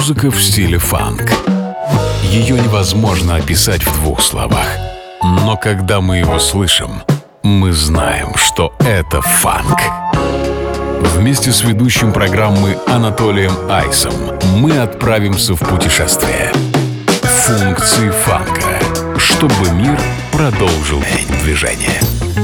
Музыка в стиле фанк. Ее невозможно описать в двух словах. Но когда мы его слышим, мы знаем, что это фанк. Вместе с ведущим программы Анатолием Айсом мы отправимся в путешествие. Функции фанка, чтобы мир продолжил движение.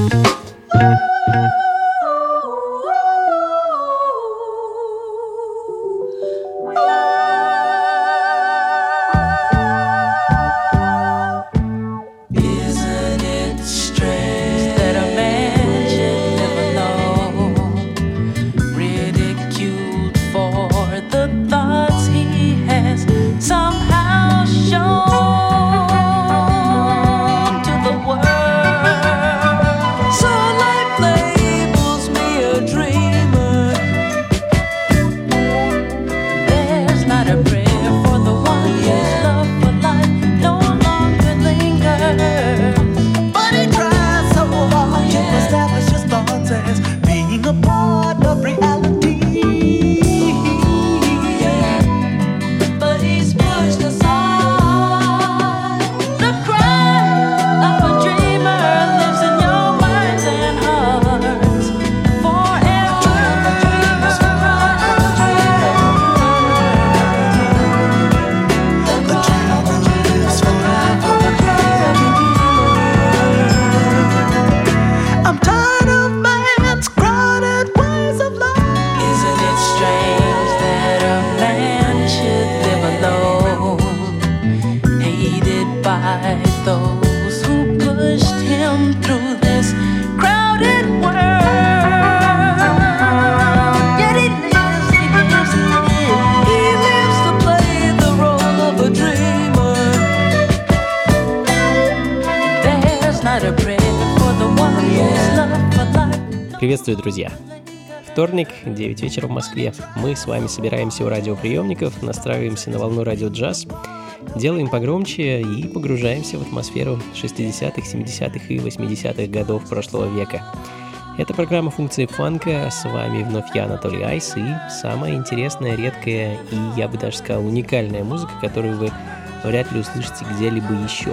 Приветствую, друзья! Вторник, 9 вечера в Москве. Мы с вами собираемся у радиоприемников, настраиваемся на волну радио джаз, делаем погромче и погружаемся в атмосферу 60-х, 70-х и 80-х годов прошлого века. Это программа «Функции фанка», с вами вновь я, Анатолий Айс, и самая интересная, редкая и, я бы даже сказал, уникальная музыка, которую вы вряд ли услышите где-либо еще.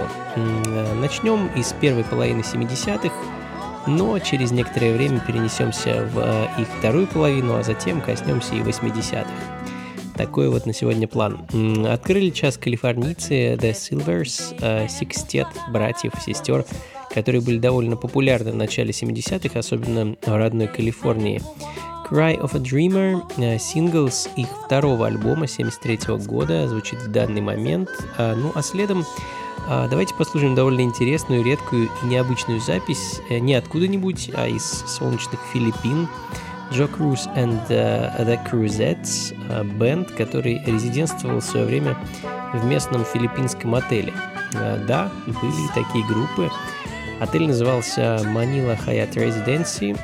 Начнем из первой половины 70-х, но через некоторое время перенесемся в их вторую половину, а затем коснемся и 80-х. Такой вот на сегодня план. Открыли час калифорнийцы The Silvers, секстет братьев, сестер, которые были довольно популярны в начале 70-х, особенно в родной Калифорнии. Cry of a Dreamer, сингл с их второго альбома 73-го года, звучит в данный момент. Ну а следом давайте послушаем довольно интересную, редкую и необычную запись не откуда-нибудь, а из солнечных Филиппин. Joe Cruz and the Cruzettes, бэнд, который резидентствовал в свое время в местном филиппинском отеле. Да, были и такие группы. Отель назывался Manila Hyatt Residency,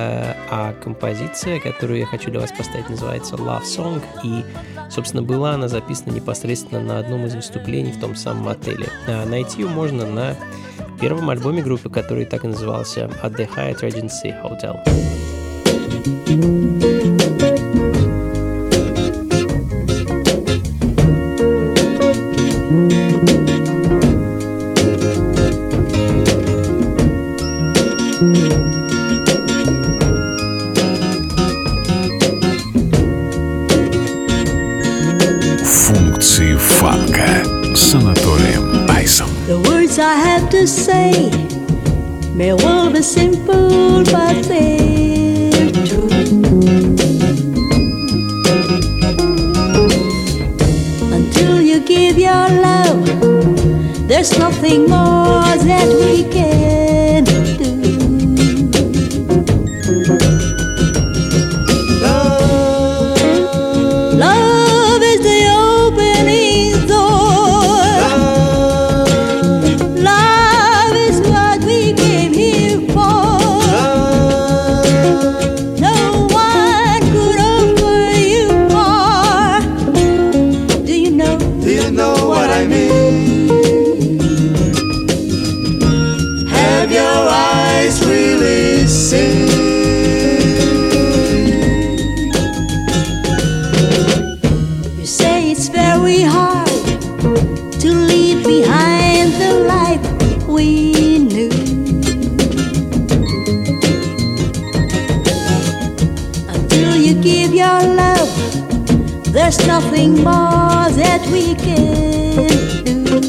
а композиция, которую я хочу для вас поставить, называется Love Song, и, собственно, была она записана непосредственно на одном из выступлений в том самом отеле. Найти ее можно на первом альбоме группы, который так и назывался At the Hyatt Regency Hotel. Функции фанка с Анатолием Айсом. The words I have to say may well be simple, but they're true. Until you give your love, there's nothing more that we can do. Love is the opening door. Love is what we came here for. you give your love, there's nothing more that we can do.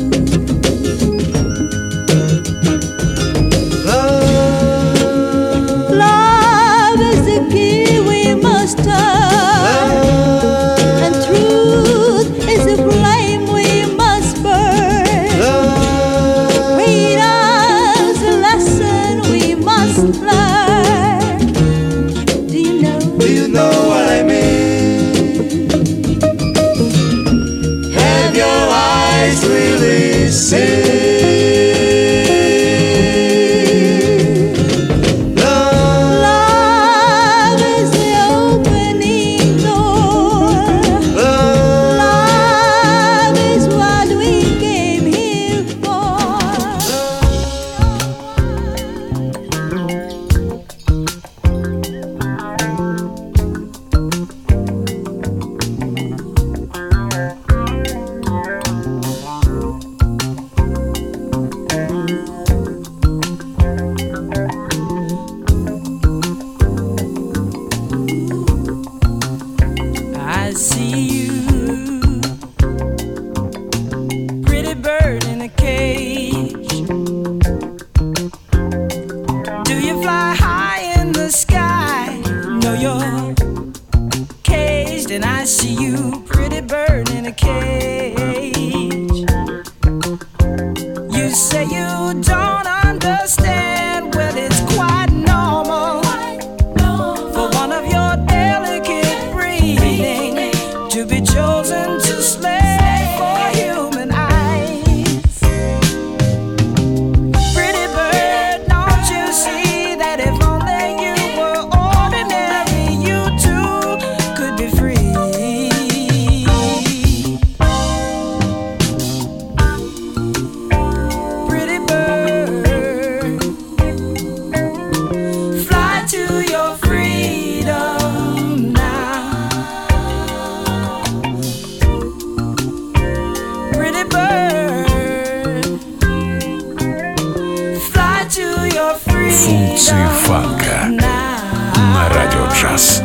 Love is the key we must turn, and truth is the flame we must burn. Freedom's the lesson we must learn. Do you know what I mean? Have your eyes really seen? Функции фанка на радио джаз.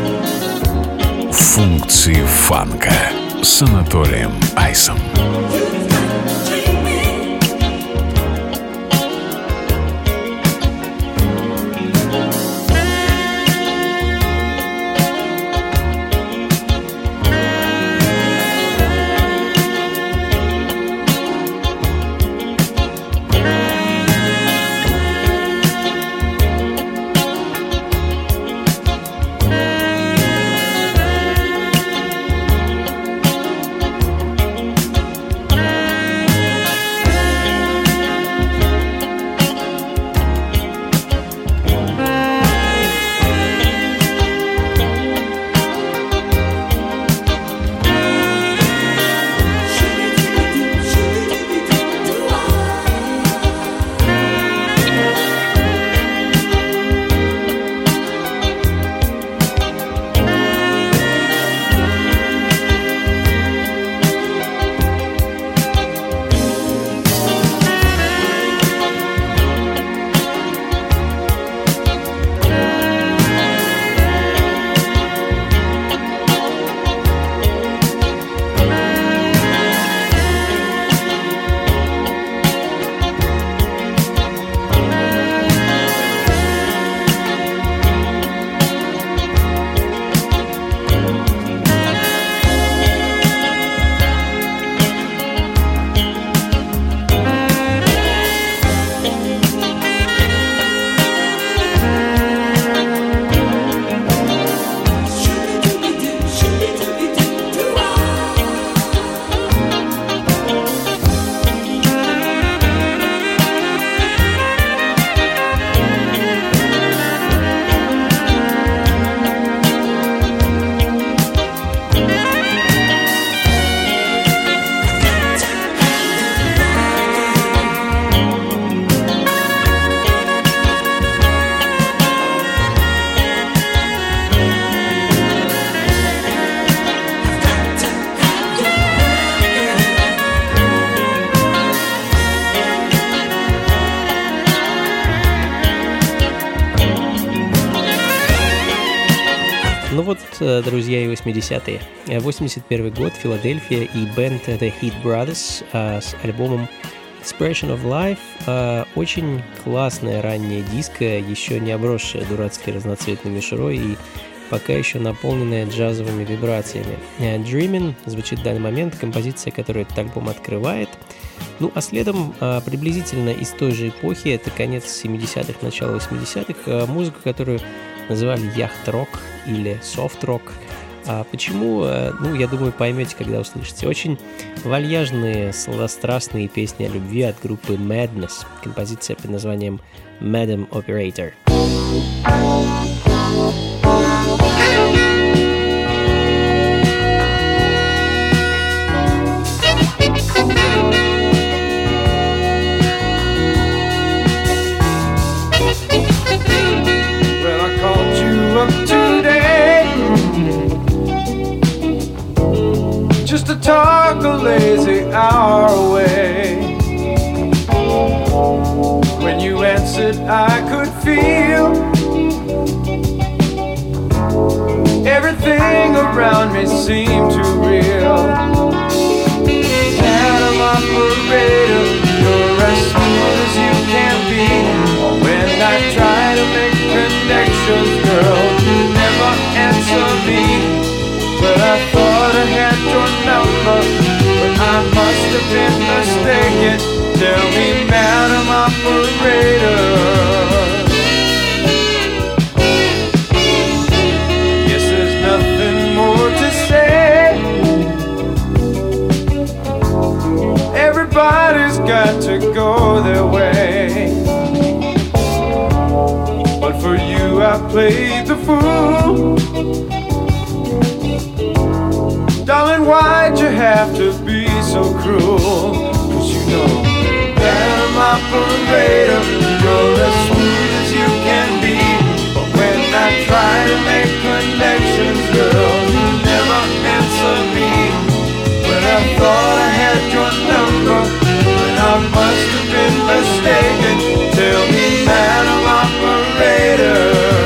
Функции фанка с Анатолием Айсом. друзья, и 80-е. 81 год, Филадельфия и бенд The Heat Brothers с альбомом Expression of Life. Очень классная ранняя диско, еще не обросшая дурацкой разноцветной мишурой и пока еще наполненная джазовыми вибрациями. Dreamin' звучит в данный момент, композиция, которую этот альбом открывает. Ну, а следом, приблизительно из той же эпохи, это конец 70-х, начало 80-х, музыка, которую называли яхт-рок или софт-рок. Почему? Ну, я думаю, поймете, когда услышите. Очень вальяжные, сладострастные песни о любви от группы Madness. Композиция под названием Madam Operator. Well, I called you up today just to talk a lazy hour away. When you answered, I could feel everything around me seemed too real. Madam Operator, you're as smooth as you can be. When I try to make connections, girl, you never answer me. But I thought I had your number, but I must have been mistaken. Tell me, Madam Operator, guess there's nothing more to say. Everybody's got to go their way, but for you I played the fool. Darling, why'd you have to be so cruel? 'Cause you know, Madam Operator, you're as smooth as you can be. But when I try to make connections, girl, you never answer me. When I thought I had your number, but I must have been mistaken. Tell me, Madam Operator,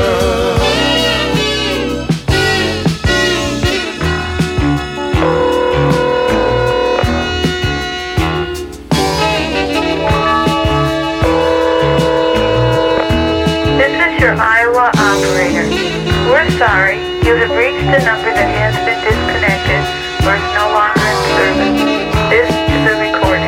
your Iowa operator. We're sorry, you have reached a number that has been disconnected or is no longer in service. This is a recording.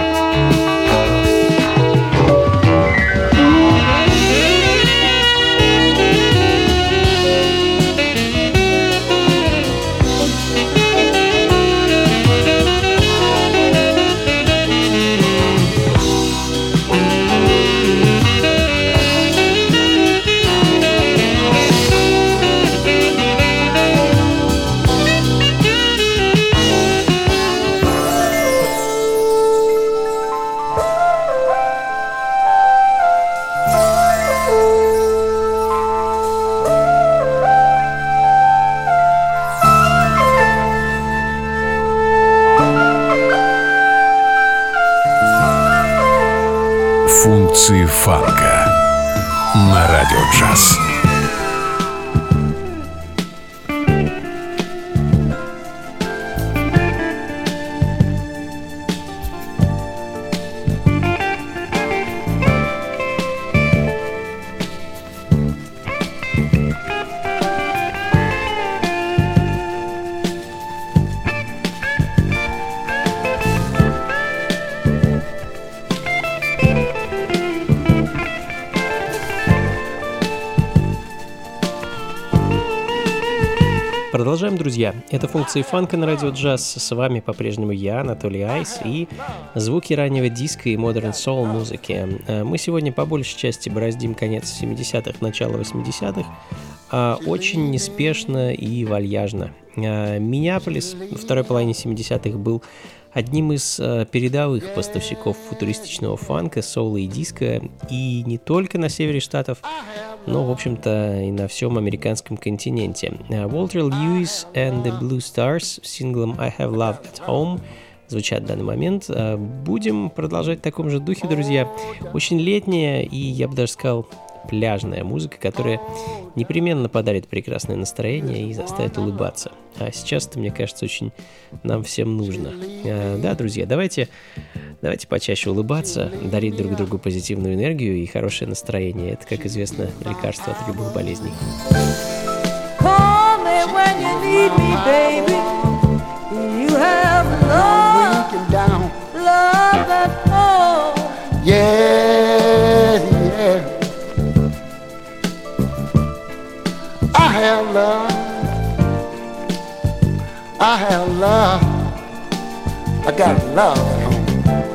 Функции фанка на радио джаз. Продолжаем, друзья. Это функции фанка на радио джаз. С вами по-прежнему я, Анатолий Айс, и звуки раннего диска и модерн соул музыки. Мы сегодня по большей части бороздим конец 70-х, начало 80-х, очень неспешно и вальяжно. Миннеаполис во второй половине 70-х был одним из передовых поставщиков футуристичного фанка, соула и диска, и не только на севере штатов, но, в общем-то, и на всем американском континенте. Уолтер Льюис and the Blue Stars с синглом I Have Love at Home звучат в данный момент. Будем продолжать в таком же духе, друзья. Очень летняя и, я бы даже сказал, пляжная музыка, которая непременно подарит прекрасное настроение и заставит улыбаться. А сейчас это, мне кажется, очень нам всем нужно. Да, друзья, давайте почаще улыбаться, дарить друг другу позитивную энергию и хорошее настроение. Это, как известно, лекарство от любых болезней. Call me when you need me, baby. You have love, love at home. Yeah, yeah. I have love. I have love. I got love at home.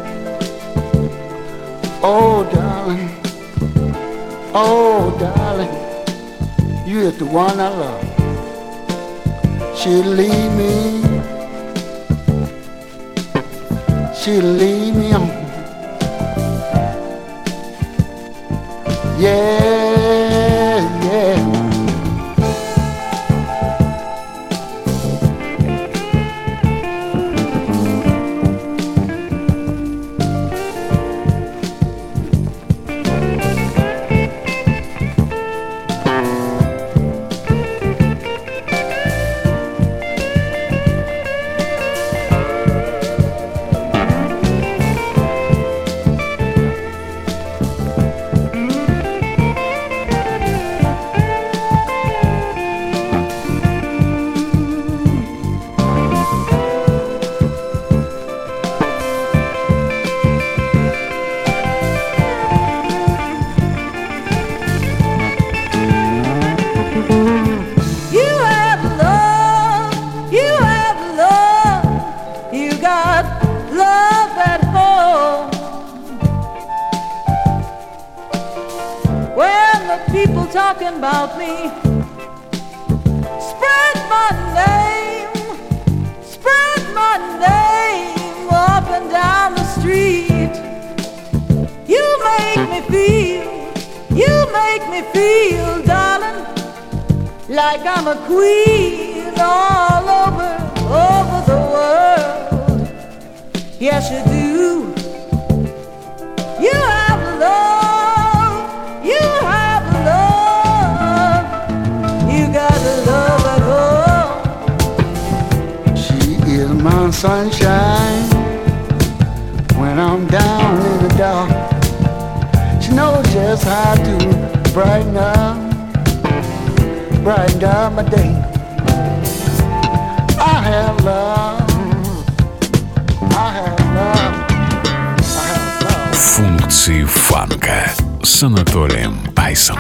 Oh, darling. Oh, darling. You is the one I love. She'll leave me. She'll leave me on. Yeah, yeah. Talking about me, spread my name up and down the street. You make me feel, darling, like I'm a queen all over the world. Yes, you do. You have love, you have love, you got love at home. She is my sunshine when I'm down in the dark. She knows just how to brighten up my day. I have love, I have love, I have love. Функции фанка с Анатолием Айсом.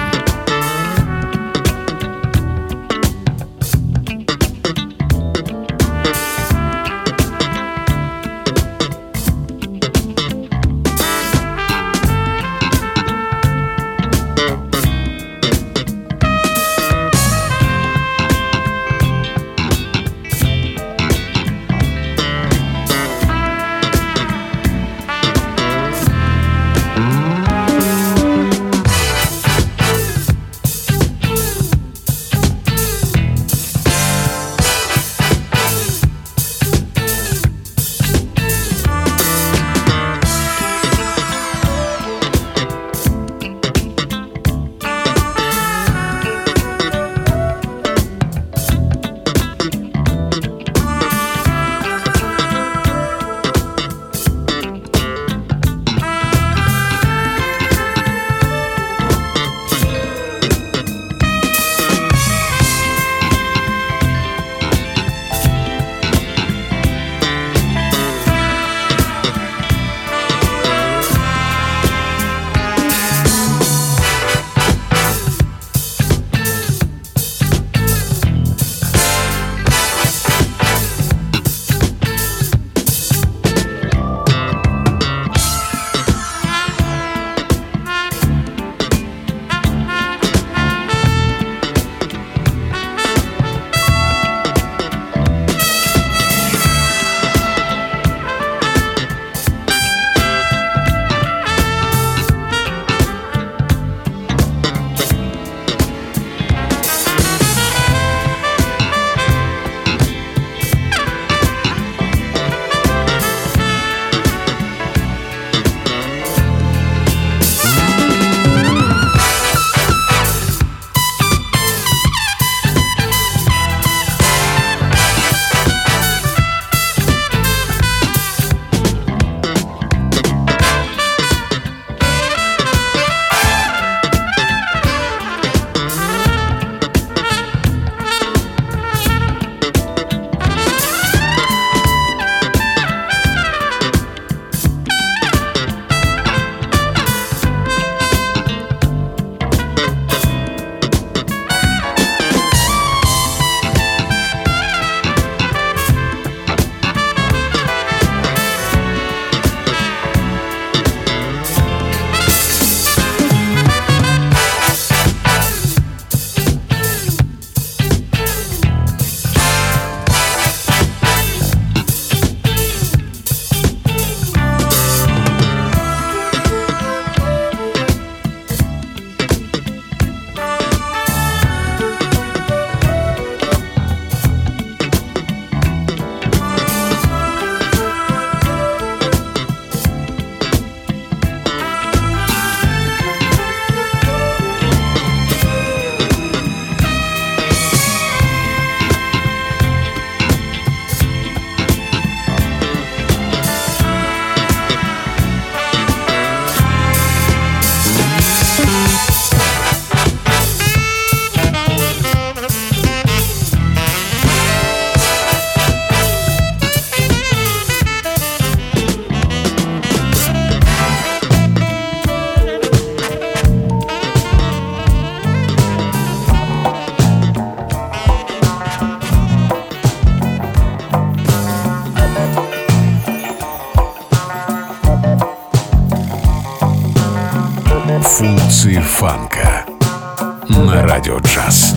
Функции фанка на радио джаз.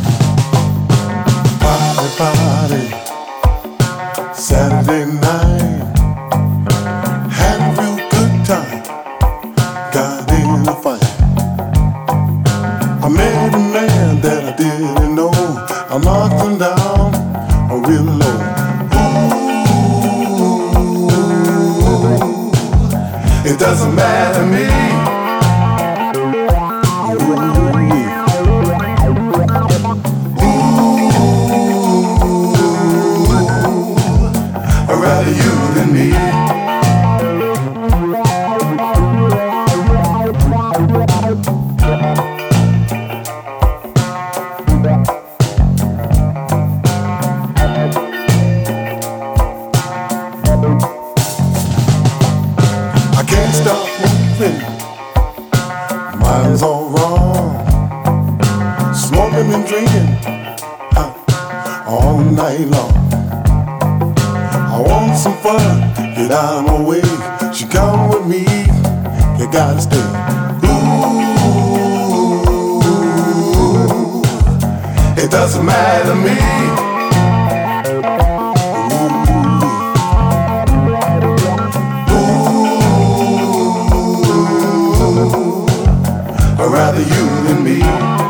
Party, Saturday night, had a real good time, got in a fight. I met a man that I didn't know, I knocked him down real low. Ooh, it doesn't matter to me. You than me. I can't stop moving, mind's all wrong, smoking and drinking all night long. I want some fun, get out of my way. She come with me, you gotta stay. Ooh, it doesn't matter to me. Ooh, I'd rather you than me.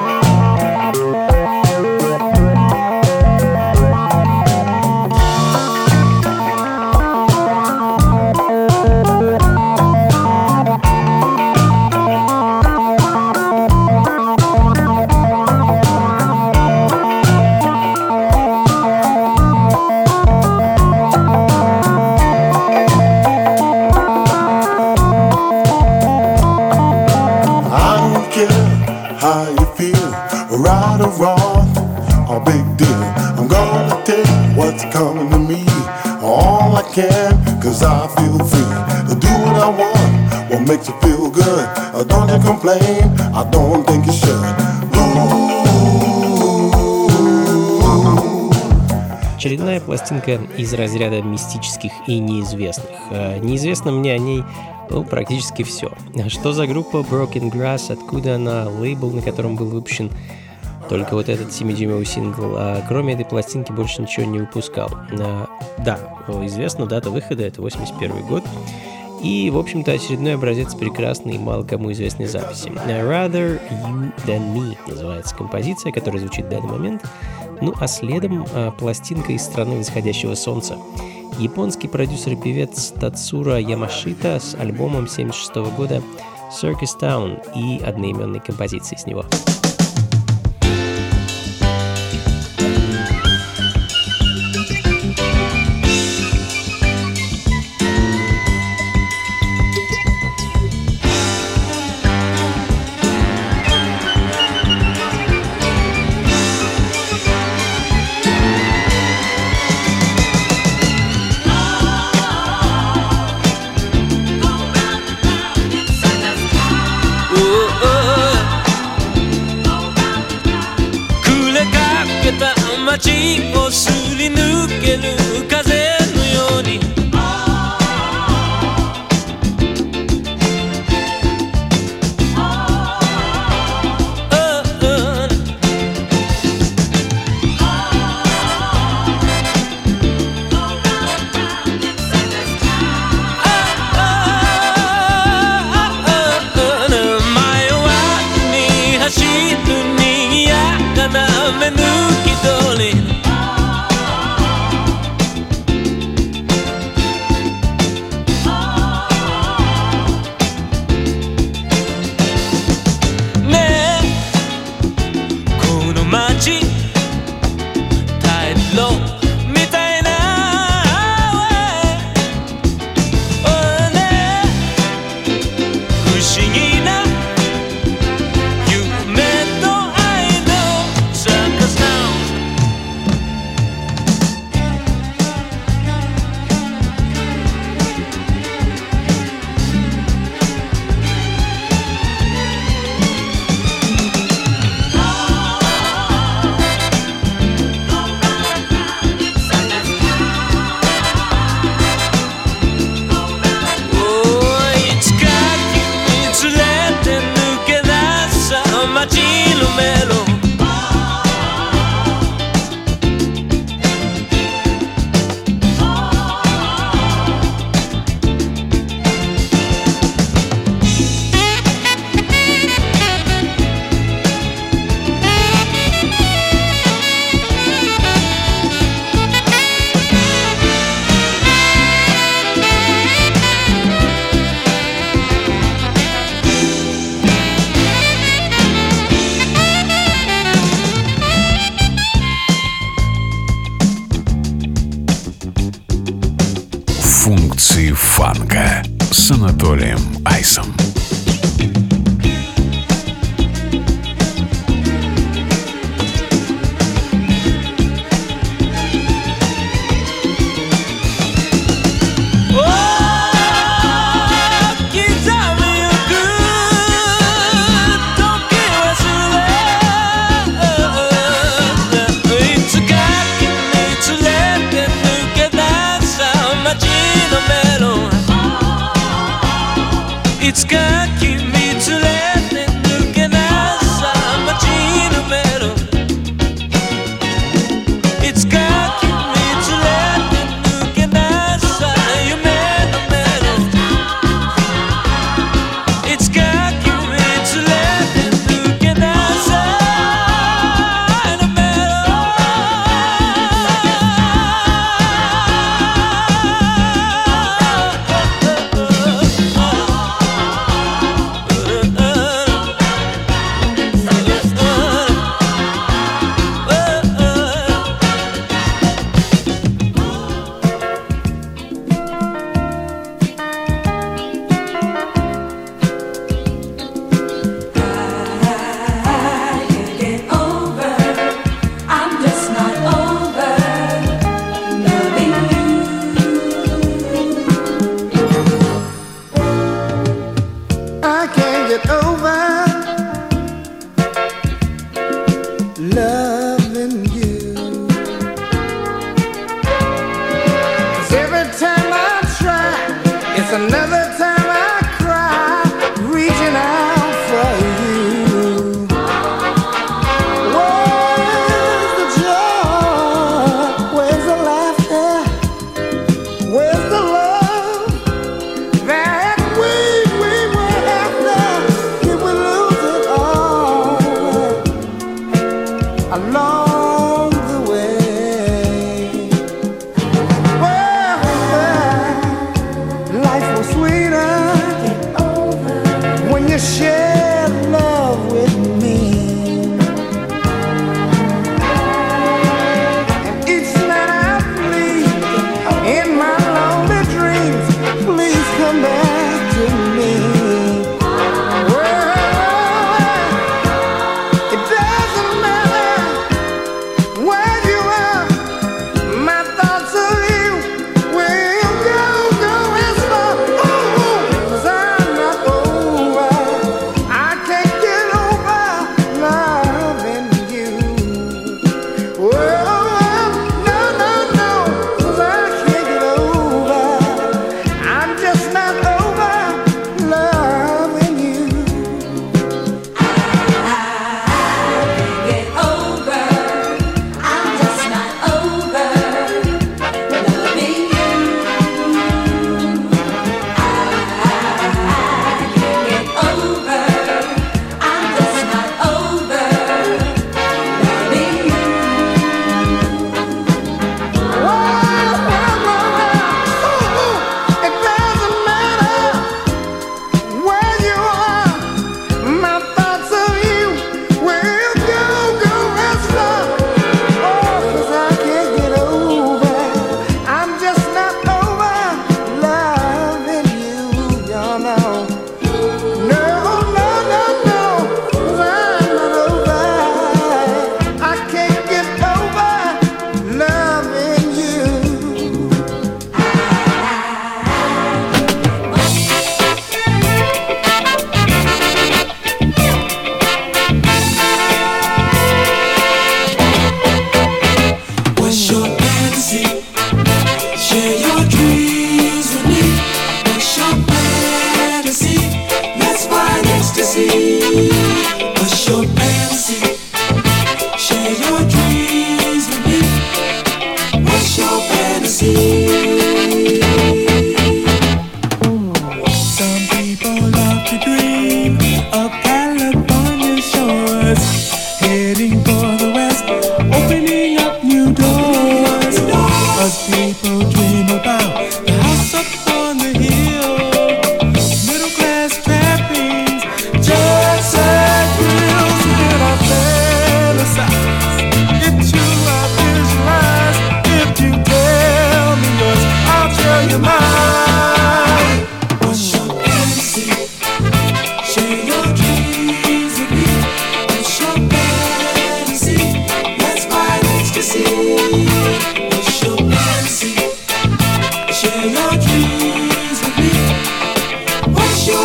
How you feel, right or wrong, a big deal. I'm gonna take what's coming to me, all I can, cause I feel free to do what I want, what makes you feel good. Don't you complain, I don't think you should. Очередная пластинка из разряда мистических и неизвестных. Неизвестно мне о ней практически все. Что за группа Broken Grass, откуда она, лейбл, на котором был выпущен только вот этот 7-дюймовый сингл, а кроме этой пластинки больше ничего не выпускал. Да, известна дата выхода, это 81 год. И, в общем-то, очередной образец прекрасной и мало кому известной записи. Rather You Than Me называется композиция, которая звучит в данный момент. Ну а следом пластинка из страны восходящего солнца. Японский продюсер и певец Тацура Ямашита с альбомом 1976 года Circus Town и одноименной композицией с него. традиции фанка с Анатолием Айсом. It's got keep me to let and looking outside my Gina metal. It's got keep me to let and looking outside your metal. It's got keep me to let and looking outside the metal. I can't get over loving you. 'Cause every time I try, it's another time I cry, reaching out for you. Where's the joy? Where's the laughter? Where's the love that we were after? It will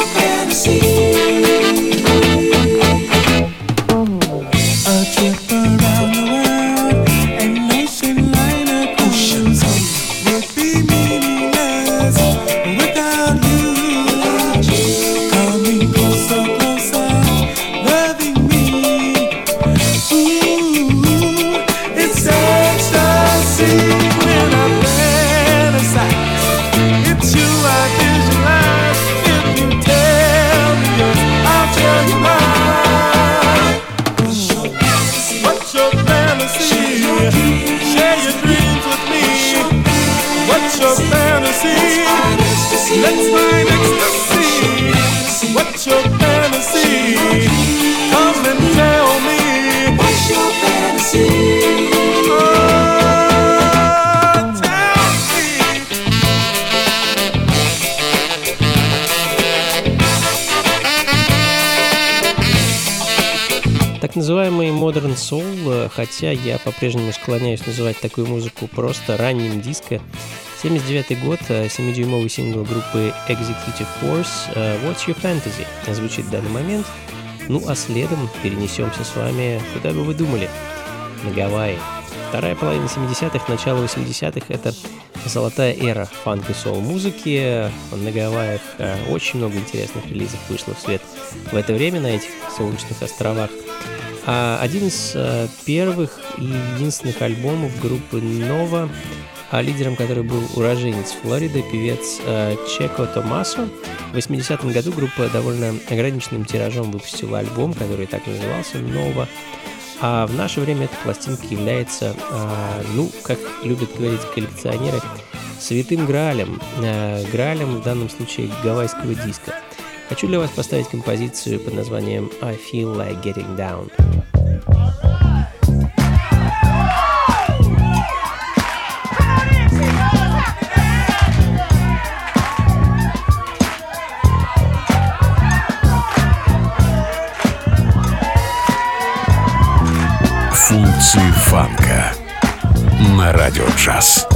Так называемый Modern Soul, хотя я по-прежнему склоняюсь называть такую музыку просто ранним диско. 79 год, 7-дюймовый сингл группы Executive Force «What's Your Fantasy» звучит в данный момент. Ну а следом перенесемся с вами, куда бы вы думали, на Гавайи. Вторая половина 70-х, начало 80-х — это золотая эра фанк и соул-музыки. На Гавайях очень много интересных релизов вышло в свет в это время на этих солнечных островах. Один из первых и единственных альбомов группы Nova, лидером которой был уроженец Флориды, певец Чеко Томасо. В 80-м году группа довольно ограниченным тиражом выпустила альбом, который так и назывался «Nova». А в наше время эта пластинка является, как любят говорить коллекционеры, святым граалем. Граалем в данном случае гавайского диска. Хочу для вас поставить композицию под названием «I Feel Like Getting Down». Функции фанка на радио джаз.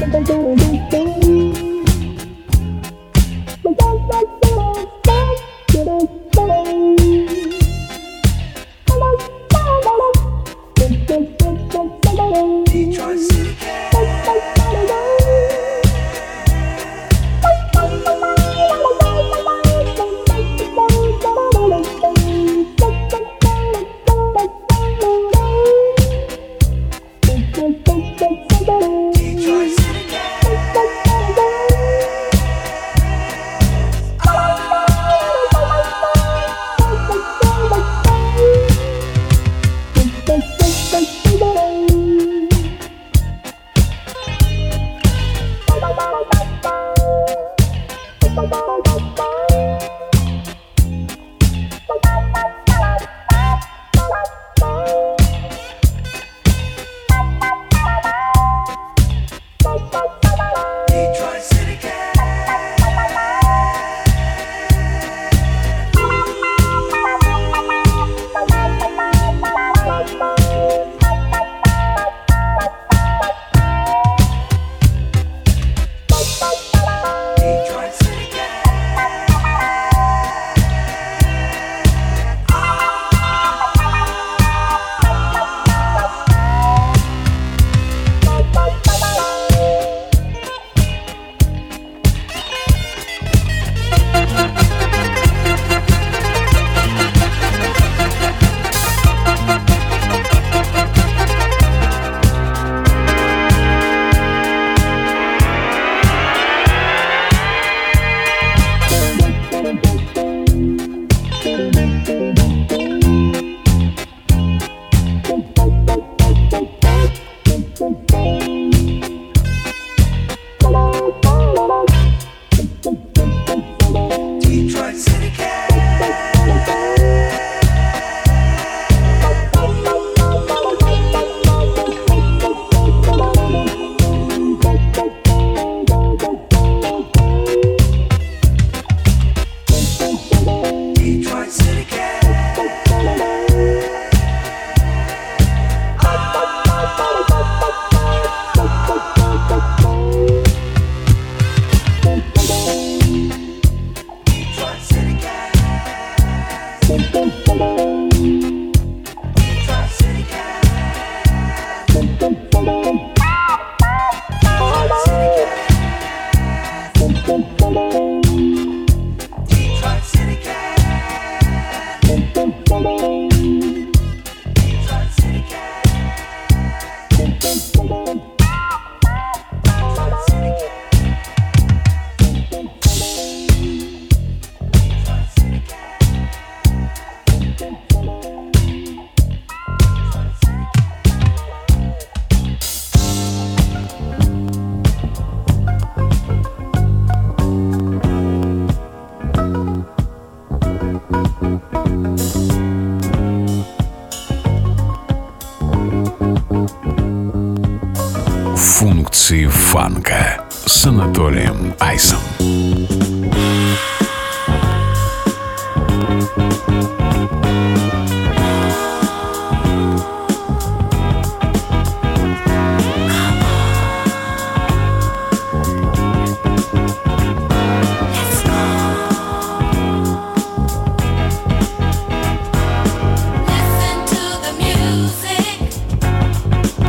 Функции фанка с Анатолием Айсом.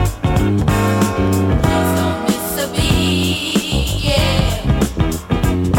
Don't miss a beat, yeah.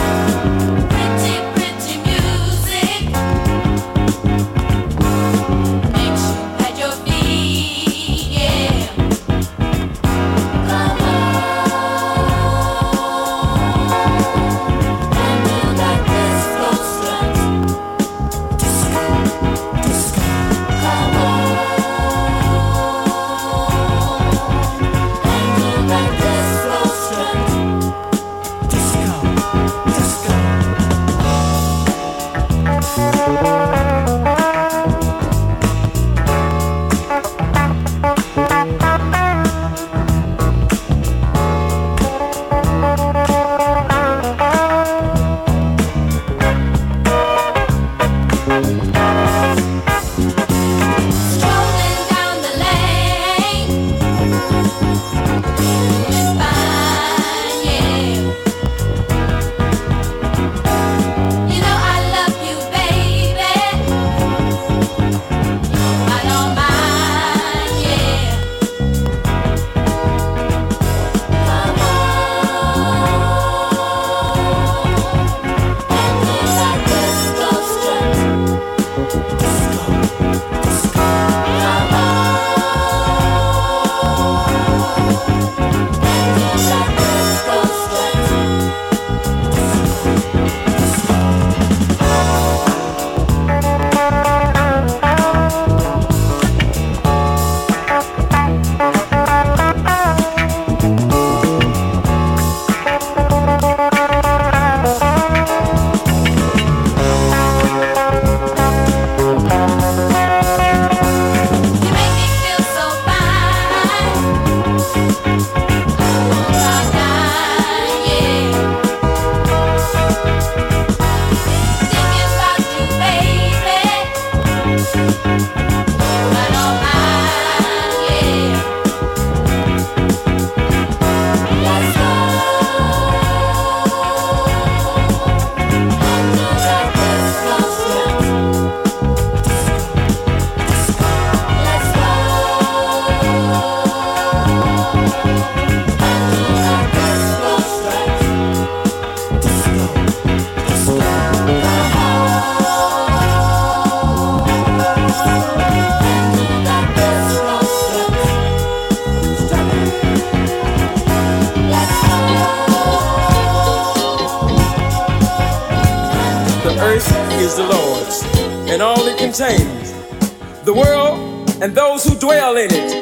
is the Lord's, and all it contains, the world and those who dwell in it.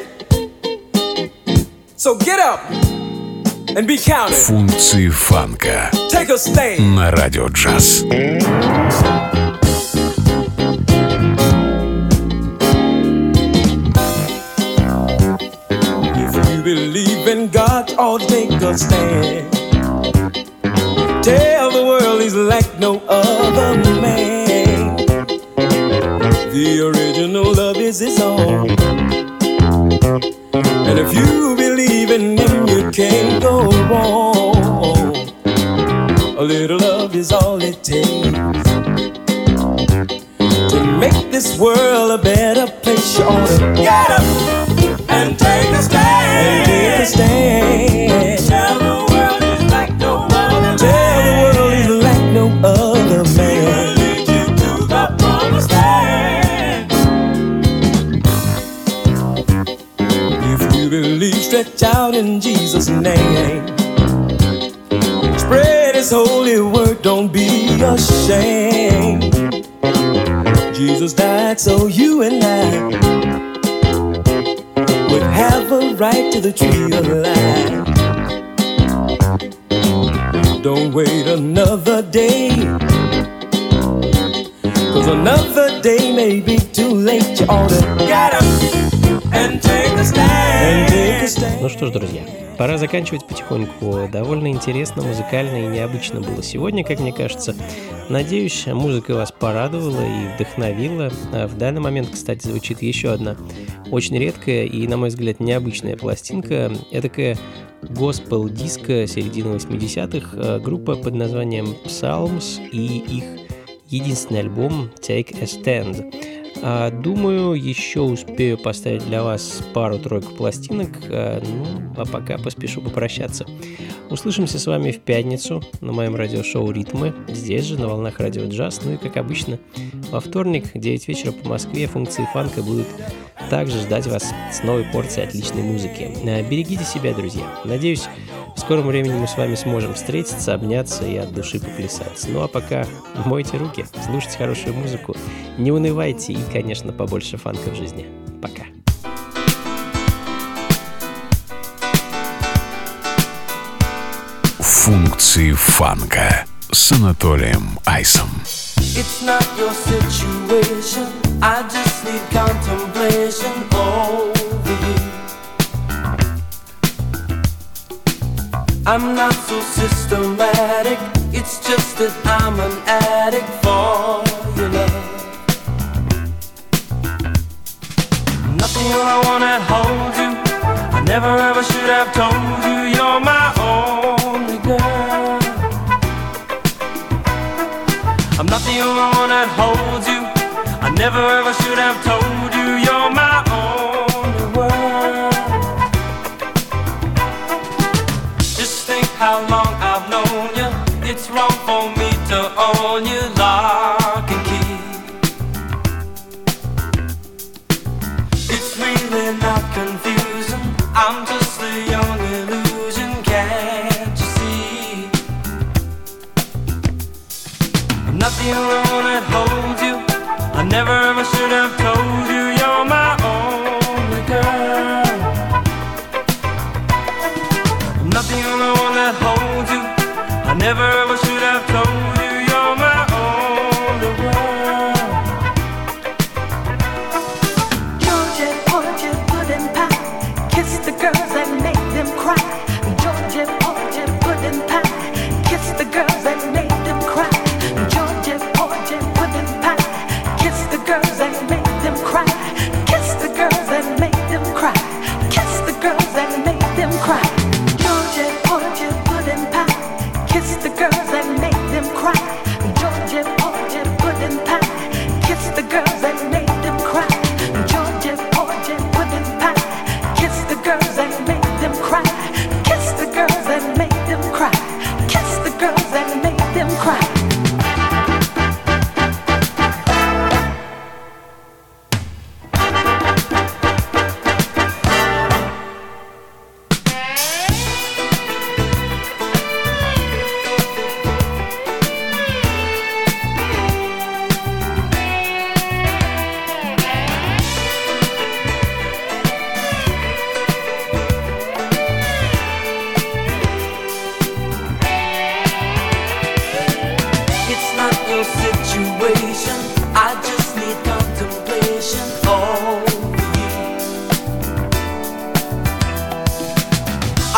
So get up and be counted. Функции фанка Take a stand. на радио джаз. If you believe in God, ought to take a stand. Tell the world he's like no other man. The original love is his own. And if you believe in him, you can't go wrong. A little love is all it takes to make this world a better place. You ought to get up and take a stand. And take a stand. Tell the world he's like no other. Tell the world he's like no other man. He'll lead you to the promised land. If you believe, stretch out in Jesus' name. Spread his holy word, don't be ashamed. Jesus died so you and I would have a right to the tree of life. Don't wait another day, 'cause another day may be too late. You ought to get up and take a stand. Ну что ж, друзья, пора заканчивать потихоньку. Довольно интересно, музыкально и необычно было сегодня, как мне кажется. Надеюсь, музыка вас порадовала и вдохновила. В данный момент, кстати, звучит еще одна очень редкая и, на мой взгляд, необычная пластинка. Эдакая госпел-диско середины 80-х, группа под названием Psalms и их единственный альбом Take a Stand. Думаю, еще успею поставить для вас пару-тройку пластинок, а пока поспешу попрощаться. Услышимся с вами в пятницу на моем радиошоу «Ритмы», здесь же, на волнах радио джаз. Ну и, как обычно, во вторник, 9 вечера по Москве, функции фанка будут также ждать вас с новой порцией отличной музыки. Берегите себя, друзья. Надеюсь, в скором времени мы с вами сможем встретиться, обняться и от души поплясать. Ну а пока мойте руки, слушайте хорошую музыку, не унывайте и, конечно, побольше фанка в жизни. Пока. Функции фанка с Анатолием Айсом. It's not your situation, I just need contemplation over you. I'm not so systematic, it's just that I'm an addict for your love. Nothing I wanna hold you, I never ever should have told you you're my only girl. I'm not the only one that holds you, I never ever should have told you you're my only world. Just think how long I've known you, it's wrong for me to own you lock and key. It's really not confusing, I'm just a young illusion, can't you see? I'm not the only one that holds you, I never ever should have told you you're my only girl. I'm not the only one that holds you, I never ever should have told you you're my only world. Georgia, Georgia, pudding pie, kiss the girl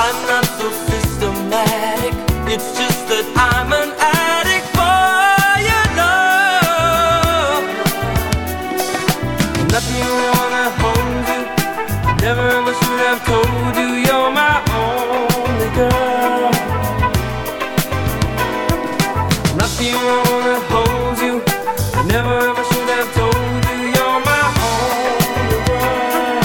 I'm not so systematic. It's just that I'm an addict for your love. Nothing wrong at home, you. Never ever should have told you you're my only girl. Nothing wrong that holds you. Never ever should have told you you're my only girl.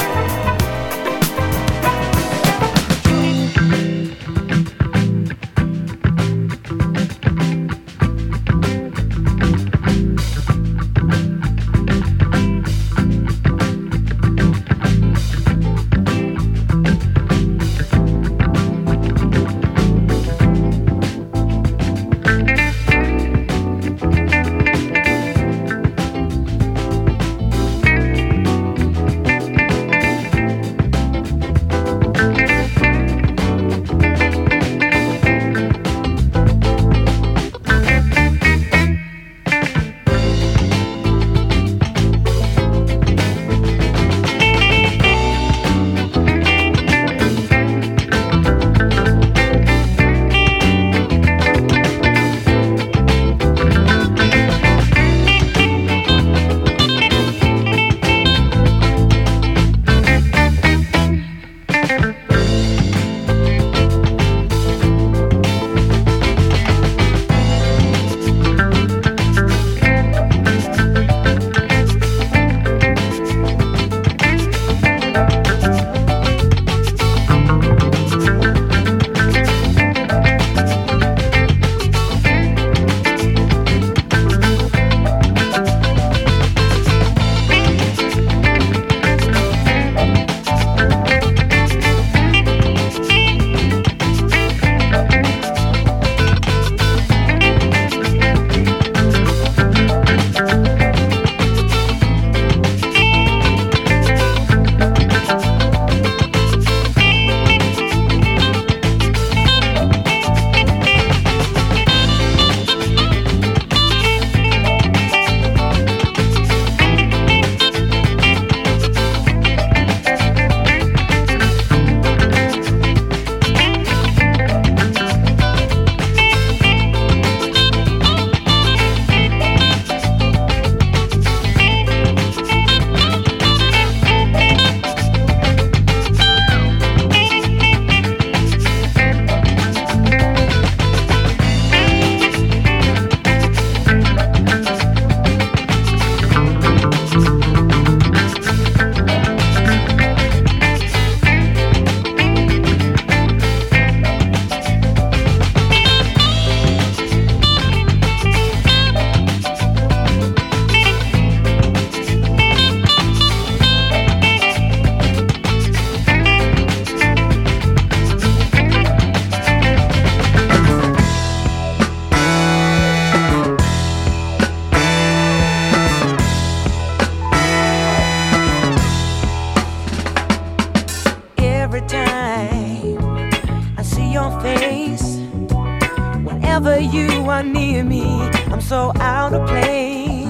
Whenever you are near me, I'm so out of place.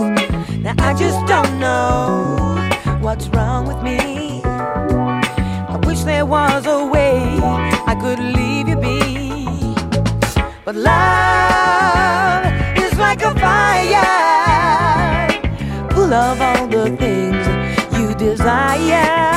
Now I just don't know what's wrong with me. I wish there was a way I could leave you be. But love is like a fire, full of all the things you desire.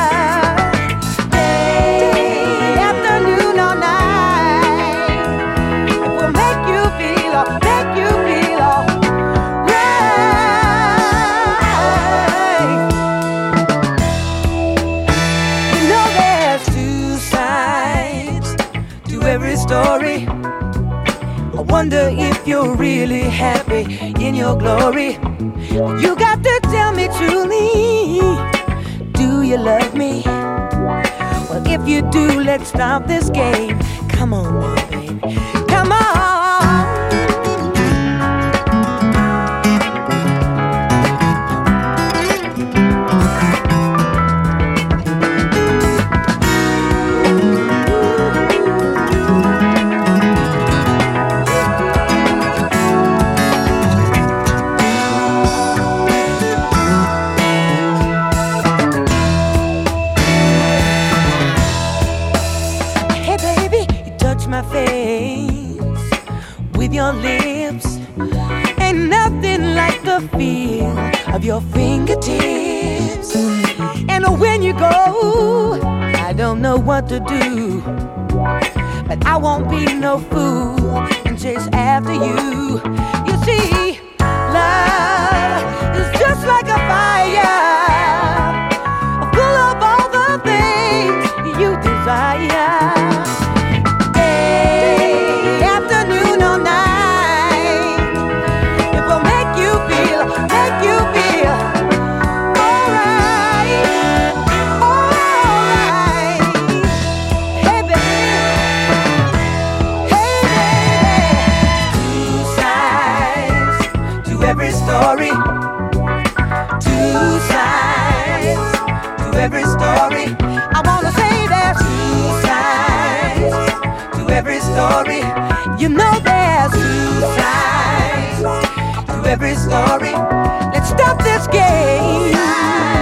Story. I wonder if you're really happy in your glory. You got to tell me truly, do you love me? Well, if you do, let's stop this game. Come on now, baby. Come on. Hey, baby. face with your lips. Ain't nothing like the feel of your fingertips. And when you go, I don't know what to do, but I won't be no fool and chase after you. You see, love is just like a fire, full of all the things you desire. Day, afternoon or night, it will make you feel alright, alright. Hey baby, two sides to every story, two sides to every story. I wanna say there's two sides to every story. You know there's two sides to every story. Let's stop this game.